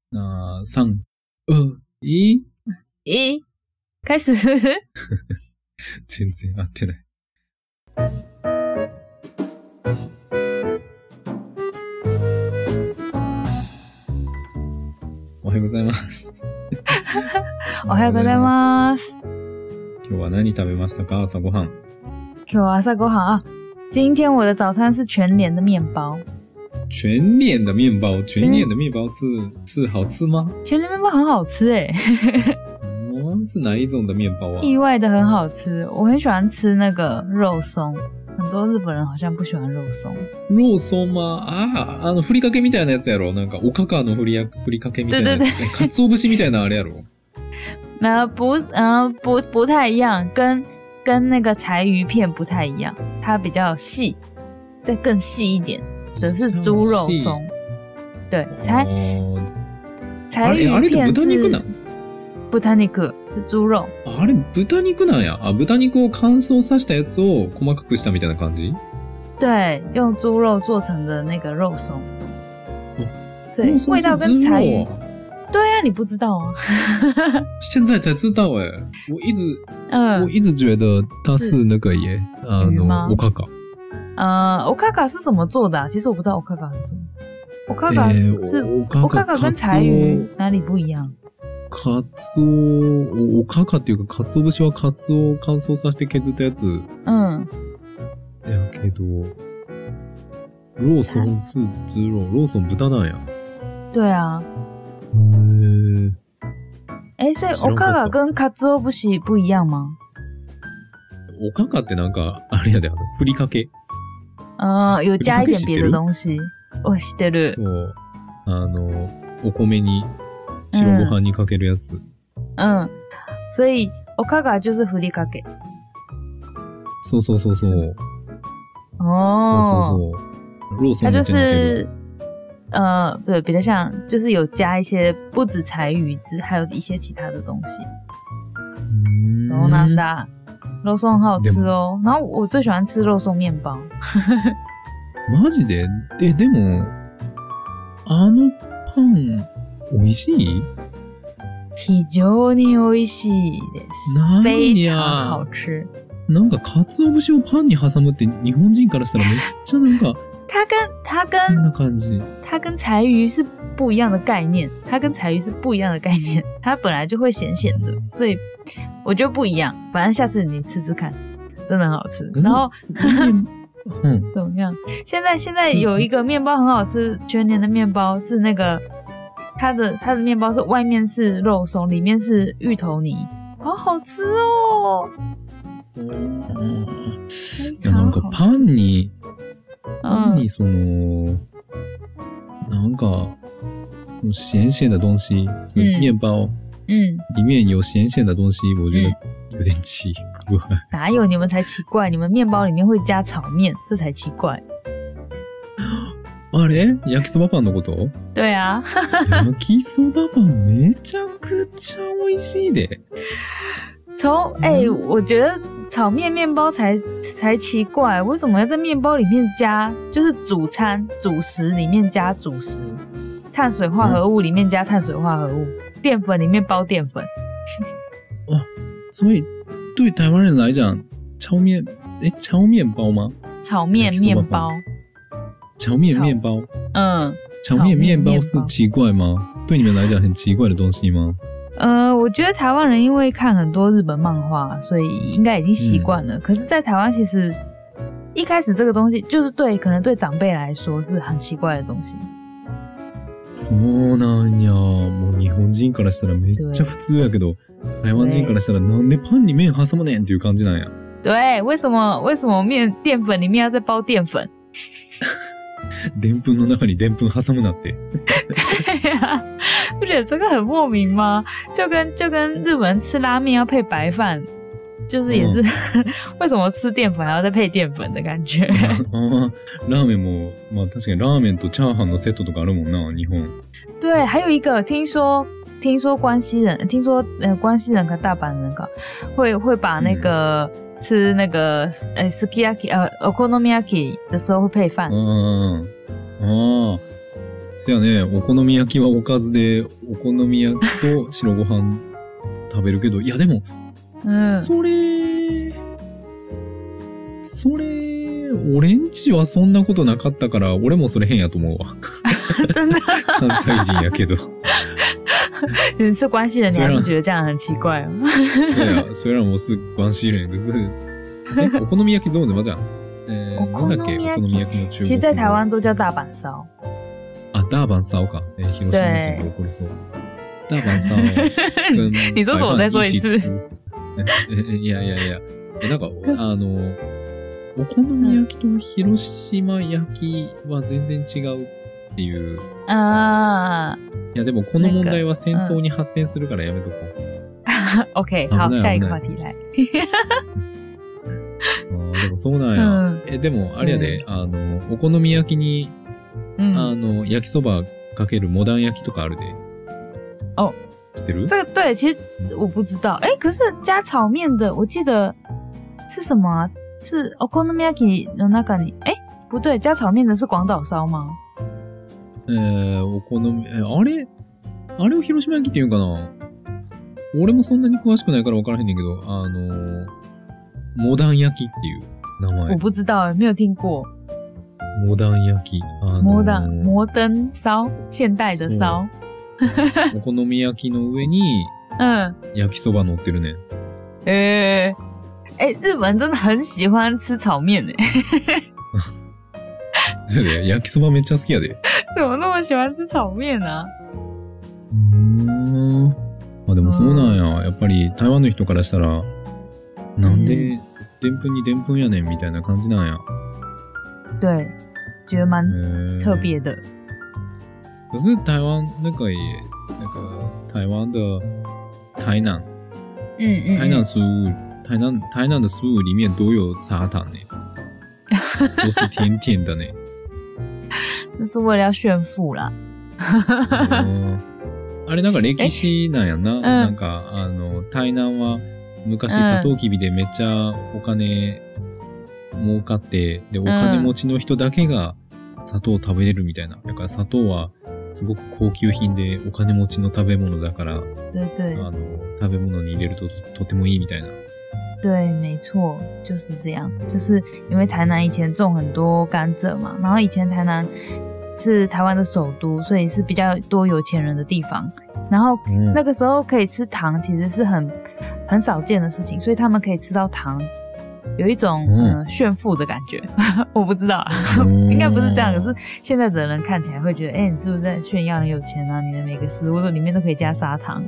那3、2、1。 开始。 全然合ってない。おはようございます。 おはようございます。 今日は何食べましたか？朝ごはん。 今日は朝ごはん啊，今天我的早餐是全联的面包。 全联的面包，全联的面包是好吃吗？ 全联面包很好吃诶。 是哪一种的面包啊？ 意外的很好吃，我很喜欢吃那个肉松。很多日本人好像不喜欢肉松。 肉松吗？ふりかけみたいなやつやろ。なんかおかかのふりかけみたいなやつ。かつお節みたいなあれやろ。 不太一样，跟那个柴鱼片不太一样，它比较细，再更细一点的是猪肉松。对，柴鱼片是豚肉なん？ 豚肉是猪肉。 あれ豚肉なんや。豚肉を乾燥させたやつを細かくしたみたいな感じ？ 对，用猪肉做成的那个肉松。所以味道跟柴鱼。对啊，你不知道啊？ 现在才知道哎，我一直觉得它是那个耶，おかか。 おかか是怎么做的啊？其实我不知道おかか是什么。おかか是おかか跟柴鱼哪里不一样？ カツオ、おかかっていうか、カツオ節はカツオを乾燥させて削ったやつ。やけど、ローソン是猪肉，ローソン豚なんや。 对啊。所以おかか跟カツオ節不一样吗？ おかかってなんか、あれやで、ふりかけ。 有加一点别的东西。我知ってる。 お米に、白ご飯にかけるやつ。 所以おかか就是ふりかけ。 そう。そう。ローソン它就是对，比较像，就是有加一些不止柴鱼汁，还有一些其他的东西。そうなんだ。肉松很好吃哦。然后我最喜欢吃肉松面包。 マジで？でもパン美味しい？ 非常に美味しいです。非常好吃。 なんか鰹節をパンに挟むって日本人からしたらめっちゃなんか。 它跟柴鱼是不一样的概念，它本来就会咸咸的，所以我觉得不一样。反正下次你吃吃看，真的很好吃。然后怎么样？现在有一个面包很好吃，全年的面包是那个它的面包是外面是肉松，里面是芋头泥，好好吃哦。 なんかパンにそのなんか咸咸的东西，是面包，里面有咸咸的东西，我觉得有点奇怪。 哪有？你们才奇怪！你们面包里面会加炒面，这才奇怪。 あれ？焼きそばパンのこと？ 对啊。 焼きそばパンめちゃくちゃ美味しいで。 我觉得炒面包才奇怪，为什么要在面包里面加，就是主食里面加主食，碳水化合物里面加碳水化合物，淀粉里面包淀粉。 所以对台湾人来讲，炒面包吗？ 炒面面包。 炒面面包。炒面面包是奇怪吗？对你们来讲很奇怪的东西吗？ 我觉得台湾人因为看很多日本漫画，所以应该已经习惯了。可是在台湾其实一开始这个东西就是可能对长辈来说是很奇怪的东西。 そうなんや。もう日本人からしたらめっちゃ普通やけど、台湾人からしたらなんでパンに麺挟むねんっていう感じなんや。 对，为什么淀粉里面要再包淀粉？ でんぷんの中にでんぷん挟むなって。 对呀，不觉得这个很莫名吗？就跟日本人吃拉面要配白饭，就是也是为什么吃淀粉还要再配淀粉的感觉。 ラーメンもまあ確かにラーメンとチャーハンのセットとかあるもんな、日本。 对，还有一个听说关西人和大阪人会把那个。吃那个sukiyaki okonomiyaki 的时候会配饭。 せやね、お好み焼きはおかずで、お好み焼きと白ご飯食べるけど、いやでも、それ、俺んちはそんなことなかったから、俺もそれ変やと思うわ。 真的？ 関西人やけど。 你是关系人，你还是觉得这样很奇怪哦？ 对啊，虽然我是关系人，可是お好み焼き怎么讲？なんだっけ？お好み焼きの中国。 其实，在台湾都叫大阪烧。 啊，大阪烧か。広島人怒りそう。大阪烧跟你说什么？再说一次。 いや。なんかお好み焼きと広島焼きは全然違うっていう。 ああ。 いやでもこの問題は戦争に発展するからやめとこう。 OK， 好，下一个話題来。 でもそうなんや。でもあれやで、お好み焼きに、焼きそばかけるモダン焼きとかあるで。 哦， 知ってる？ 这个对，其实我不知道。可是加炒面的，我记得是什么啊？是お好み焼きの中に，不对，加炒面的是广岛烧吗？ お好み、あれを広島焼きって言うんかな？俺もそんなに詳しくないから分からへんねんけど、モダン焼きっていう名前。 我不知道，没有听过。 モダン焼き。 摩登烧，现代的烧。 お好み焼きの上に、焼きそば乗ってるね。 日本真的很喜欢吃炒面ね。 そうだよ、焼きそばめっちゃ好きやで。 怎么那么喜欢吃炒面啊？ あ、でもそうなんや。やっぱり台湾の人からしたら、なんででんぷんにでんぷんやねんみたいな感じなんや。 对，觉得蛮特别的。 可是台湾那个台湾的台南，台南食物，台南的食物里面都有砂糖呢，都是甜甜的呢。 那是为了要炫富啦。 あれなんか歴史なんやな。なんか台南は昔サトウキビでめっちゃお金儲かって、でお金持ちの人だけが砂糖を食べれるみたいな。だから砂糖はすごく高級品でお金持ちの食べ物だから、食べ物に入れるととてもいいみたいな。 对，没错，就是这样。就是因为台南以前种很多甘蔗嘛，然后以前台南是台湾的首都，所以是比较多有钱人的地方。然后那个时候可以吃糖，其实是很少见的事情，所以他们可以吃到糖，有一种炫富的感觉。我不知道，应该不是这样。可是现在的人看起来会觉得，你是不是在炫耀很有钱啊？你的每个食物里面都可以加砂糖。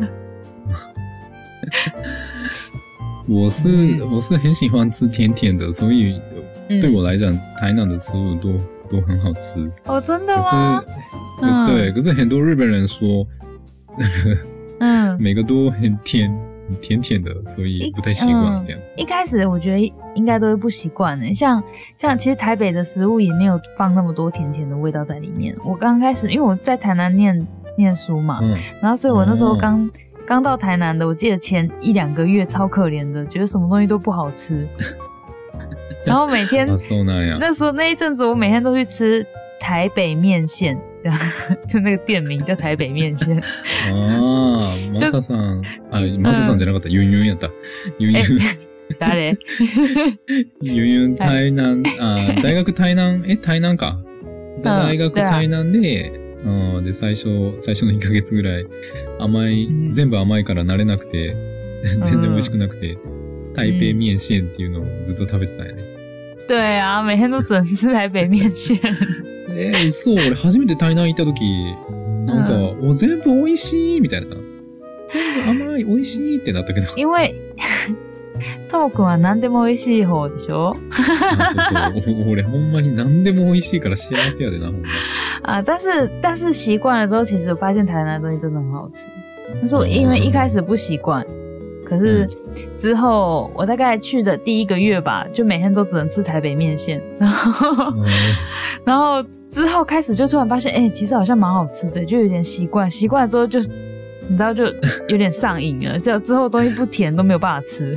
我是很喜欢吃甜甜的，所以对我来讲，台南的食物都很好吃。 哦，真的吗？ 对，可是很多日本人说那个每个都很甜的，所以不太习惯这样子。 一开始我觉得应该都会不习惯的，像其实台北的食物也没有放那么多甜甜的味道在里面。我刚开始因为我在台南念书嘛，然后所以我那时候刚到台南的，我记得前1-2个月超可怜的，觉得什么东西都不好吃。然后每天那时候那一阵子，我每天都去吃台北面线，就那个店名叫台北面线。 ああ、マサさん、マサさんじゃなかった、ユンユンやった。ユンユン。 誰？ ユンユン台南、大学台南、台南か。大学台南で、で最初の1ヶ月ぐらい全部甘いから慣れなくて、全然美味しくなくて、台北面線っていうのをずっと食べてたんやね。 对啊，每天都只能吃台北面線。 そう、俺初めて台南行った時、なんか、全部美味しいみたいな。全部甘い、美味しいってなったけど。 因为ともくんは何でも美味しい方でしょ？ そうそう。俺ほんまに何でも美味しいから幸せやでな、ほんま。 但是习惯了之后，其实我发现台南的东西真的很好吃。但是我因为一开始不习惯，可是之后我大概去的第1个月吧，就每天都只能吃台北面线，然后之后开始就突然发现，其实好像蛮好吃的，就有点习惯。习惯了之后就你知道就有点上瘾了，之後東西不甜都没有辦法吃。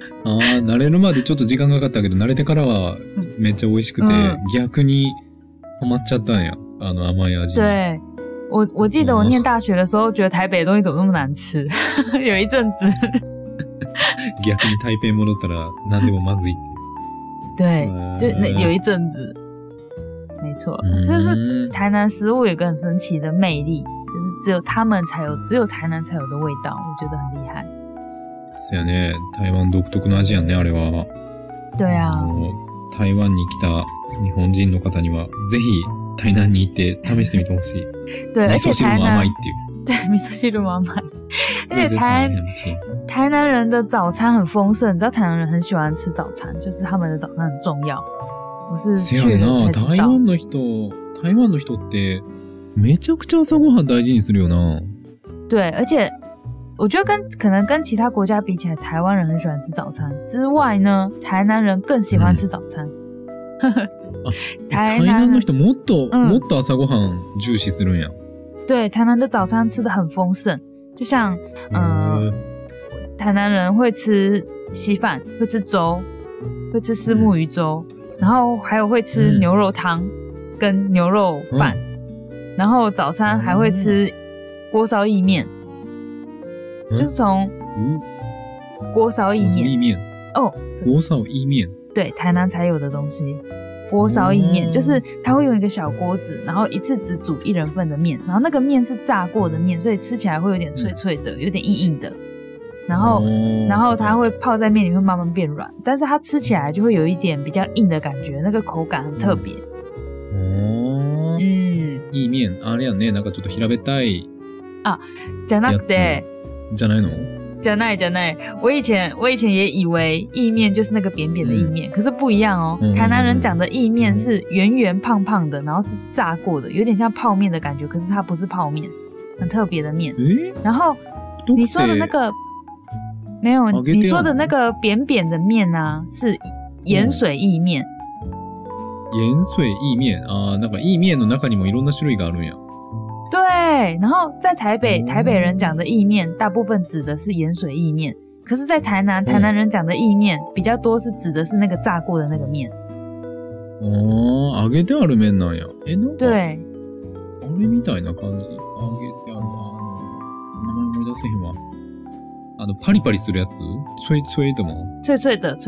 慣れるまでちょっと時間かかったけど、慣れてからはめっちゃ美味しくて、逆にハマっちゃったんや。甘い味。 对，我记得我念大学的时候，觉得台北的东西怎么那么难吃，有一阵子。 逆に台北戻ったら何でもまずいって。 对，就有一阵子。没错，就是台南食物有一个很神奇的魅力，就是只有他们才有，只有台南才有的味道，我觉得很厉害。 そうやね。台湾独特の味やんね、あれは。 对啊。 台湾に来た日本人の方には、ぜひ台南に行って試してみてほしい。 对，而且味噌汁も甘いっていう。 对，味噌汁も甘い。而且台南人的早餐很丰盛，你知道台南人很喜欢吃早餐，就是他们的早餐很重要。我是去了才知道。 台湾の人ってめちゃくちゃ朝ごはん大事にするよな。 对，而且我觉得可能跟其他国家比起来，台湾人很喜欢吃早餐之外呢，台南人更喜欢吃早餐。 台南の人もっと朝ごはん重視するんや。 对，台南的早餐吃得很丰盛，就像台南人会吃稀饭，会吃粥，会吃虱目鱼粥，然后还有会吃牛肉汤跟牛肉饭，然后早餐还会吃锅烧意面，就是从锅烧意面哦， 锅烧意面， 对，台南才有的东西。锅烧意面就是它会用一个小锅子，然后一次只煮1人份的面，然后那个面是炸过的面，所以吃起来会有点脆脆的，有点硬硬的。然后它会泡在面里面慢慢变软，但是它吃起来就会有一点比较硬的感觉，那个口感很特别。 意面あれやね、なんかちょっと平べったい。 あ、じゃなくて。 じゃないの？ じゃない。我以前也以为意面就是那个扁扁的意面，可是不一样哦。台南人讲的意面是圆圆胖胖的，然后是炸过的，有点像泡面的感觉，可是它不是泡面，很特别的面。然后你说的那个没有，你说的那个扁扁的面啊，是盐水意面。 盐水意面啊，なんか意面の中にもいろんな種類があるんや。 对，然后在台北人讲的意面大部分指的是盐水意面，可是在台南人讲的意面比较多是指的是那个炸过的那个面。 揚げてある面なんや。なんか对。 あれみたいな感じ。揚げてある名前思い出せへんわ。パリパリするやつ？脆脆的吗？ 脆脆的。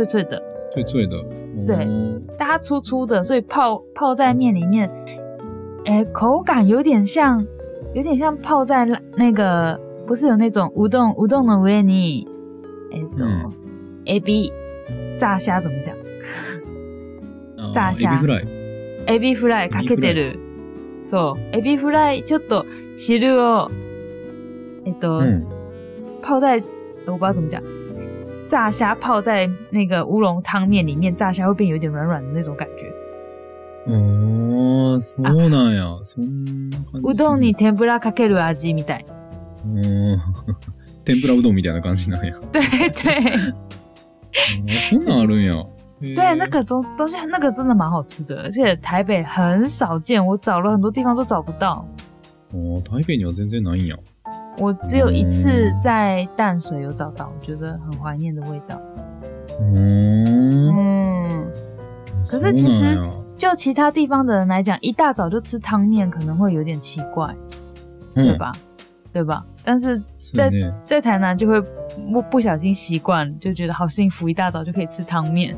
对，但它粗粗的，所以泡在面里面。口感有点像泡在那个，不是有那种乌冬的上にエビ炸虾怎么讲？炸虾エビフライかけてる。そうエビフライちょっと汁を泡在我不知道怎么讲，炸虾泡在那个乌龙汤面里面，炸虾会变有点软软的那种感觉。 そうなんや。そんな感じ。 うどんに天ぷらかける味みたい。 天ぷらうどんみたいな感じなんや。 对对。 そんなんあるんや。 对，那个东西那个真的蛮好吃的，而且台北很少见，我找了很多地方都找不到。 台北には全然ないんや。 我只有一次在淡水有找到，我觉得很怀念的味道。可是其实就其他地方的人来讲，一大早就吃汤面可能会有点奇怪，对吧？但是在台南就会不小心习惯，就觉得好幸福，一大早就可以吃汤面。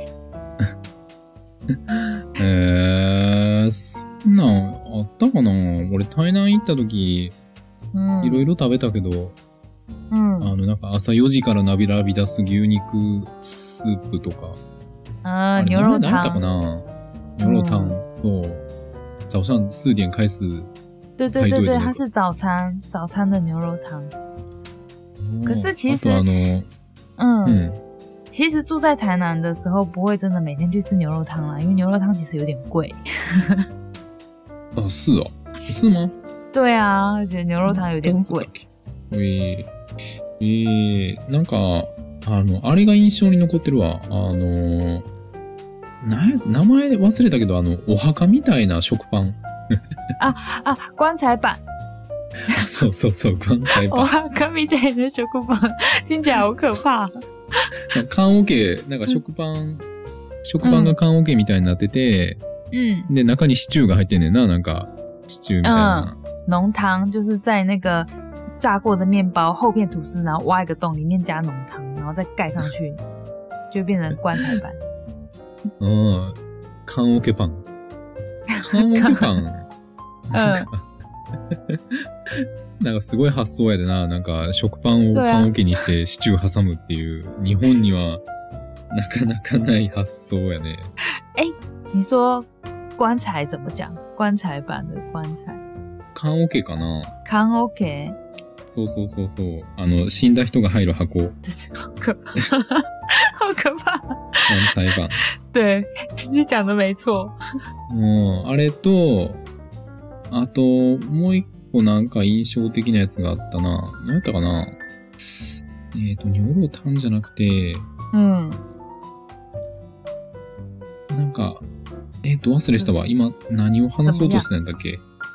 そんなんあったかな？俺台南行った時いろいろ食べたけど、なんか朝4時から並び出す牛肉スープとか。 牛肉汤。 何だったかな？牛肉汤，早上4点开始。 对，它是早餐的牛肉汤。可是其实，其实住在台南的时候，不会真的每天去吃牛肉汤啦，因为牛肉汤其实有点贵。 是哦，是吗？ 对啊，我觉得牛肉汤有点贵。 なんかあれが印象に残ってるわ。名前忘れたけど、お墓みたいな食パン。 棺材板。 そう、棺材板。 お墓みたいな食パン。听起来好可怕。 缶オケ、なんか食パンが缶オケみたいになってて、 で、中にシチューが入ってんねんな、なんか、シチューみたいな。 浓汤就是在那个炸过的面包厚片吐司，然后挖一个洞，里面加浓汤，然后再盖上去，就变成棺材板。 缶オケパン。缶オケパン。なんかすごい発想やでな。なんか食パンを缶オケにしてシチュー挟むっていう、日本にはなかなかない発想やね。 你说棺材怎么讲？棺材板的棺材。 缶オケかな？ 缶オケ。 そうそうそうそう。死んだ人が入る箱。 好可怕。好可怕。 棺材板。 对，你讲的没错。 あれと、あと、もう一個なんか印象的なやつがあったな。何やったかな？ニョロタンじゃなくて、なんか、忘れしたわ。今、何を話そうとしてたんだっけ？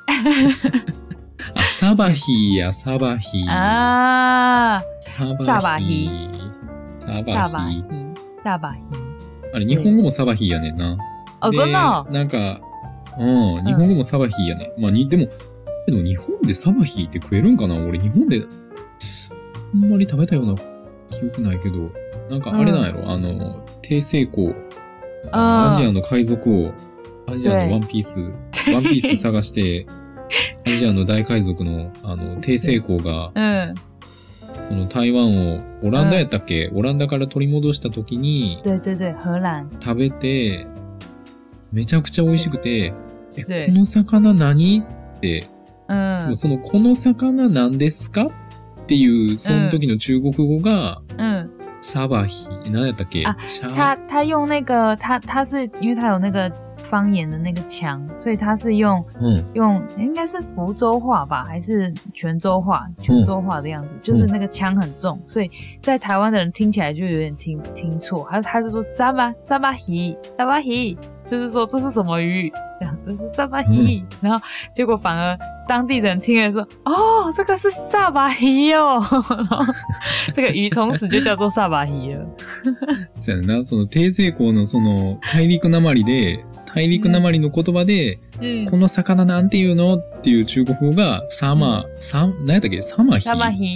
サバヒーや、サバヒー。サバヒー。サバヒー。あれ、日本語もサバヒーやねんな。 真的？ なんか、日本語もサバヒーやね。まあ、でも日本でサバヒーって食えるんかな？俺、日本で、あんまり食べたような記憶ないけど、なんかあれなんやろ？低成功。アジアの海賊王、アジアのワンピース探して、アジアの大海賊の、低成功が、この台湾を、オランダやったっけ？オランダから取り戻した時に、食べて、めちゃくちゃ美味しくて、この魚何？って、この魚何ですか？っていう、その時の中国語が、沙巴鱼，哪里的给？ 他用那个他是因为他有那个方言的那个腔，所以他是用应该是福州话吧，还是泉州话的样子，就是那个腔很重，所以在台湾的人听起来就有点听错。他是说沙巴鱼，就是说这是什么鱼？这样这是沙巴鱼，然后结果反而当地人听了说，哦，这个是沙巴鱼哦，然后这个鱼从此就叫做沙巴鱼了。 そうやな、その低成功のその大陸なまりの言葉で、この魚なんていうのっていう中国語が何やったっけ？サマヒ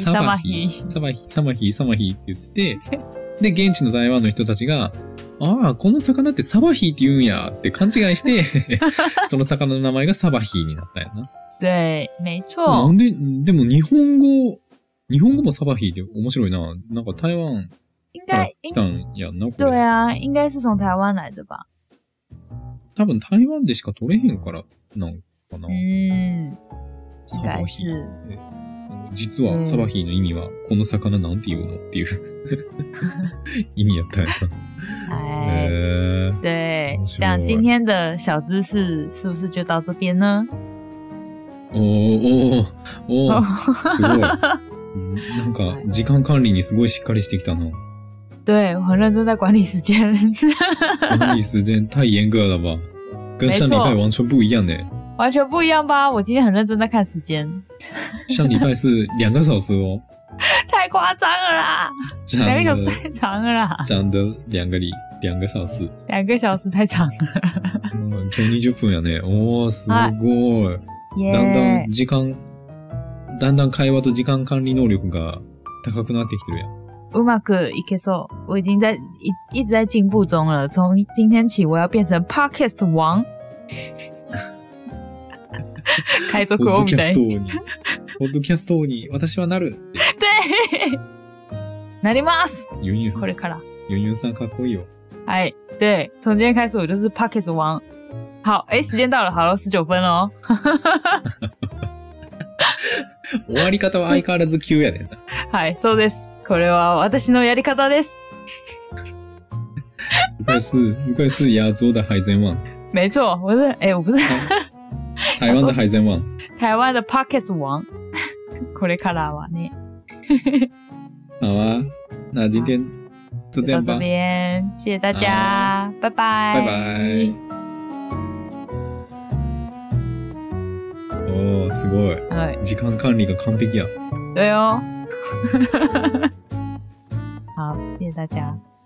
って言ってて、で現地の台湾の人たちが、この魚ってサバヒーって言うんやって勘違いしてその魚の名前がサバヒーになったんやな。 对，没错。 なんで、でも日本語もサバヒーって面白いな。なんか台湾から来たんやんな、これ。 对啊，应该是从台湾来的吧。 多分台湾でしか取れへんからなんかな。 サバヒー。 実はサバヒーの意味はこの魚なんていうのっていう意味やったんやな。 对，这样今天的小知识是不是就到这边呢？ すごい。なんか時間管理にすごいしっかりしてきたな。 对，我很认真在管理时间。 管理时间太严格了吧？跟上礼拜完全不一样呢。 完全不一样吧？我今天很认真在看时间。 上礼拜是2个小时哦。 太夸张了啦！2个小时太长了啦。 讲的2个小時。 2个小時太長了。 今日20分やね。すごい。だんだん会話と時間管理能力が高くなってきてるやん。 うまくいけそう。我已经一直在进步中了。从今天起，我要变成 Podcast 王。海賊王みたいに。 ポッドキャスト王に私はなる。 对。なります。 ユンユン。 これから。 ユンユンさんかっこいいよ。 はい。对。从今天开始我就是 Podcast 王。好，时间到了，好了，19分了。 終わり方は相変わらず急やねんな。 はい、そうです。これは私のやり方です。 应该是亚洲的海贼王。 没错，我不是。 台湾的海贼王。 台湾的 Pocket 王。これからはね。 好啊，那今天就这样吧。 到这边，谢谢大家，拜拜。 拜拜。すごい。はい。時間管理が完璧や。 对哦。好，谢谢大家。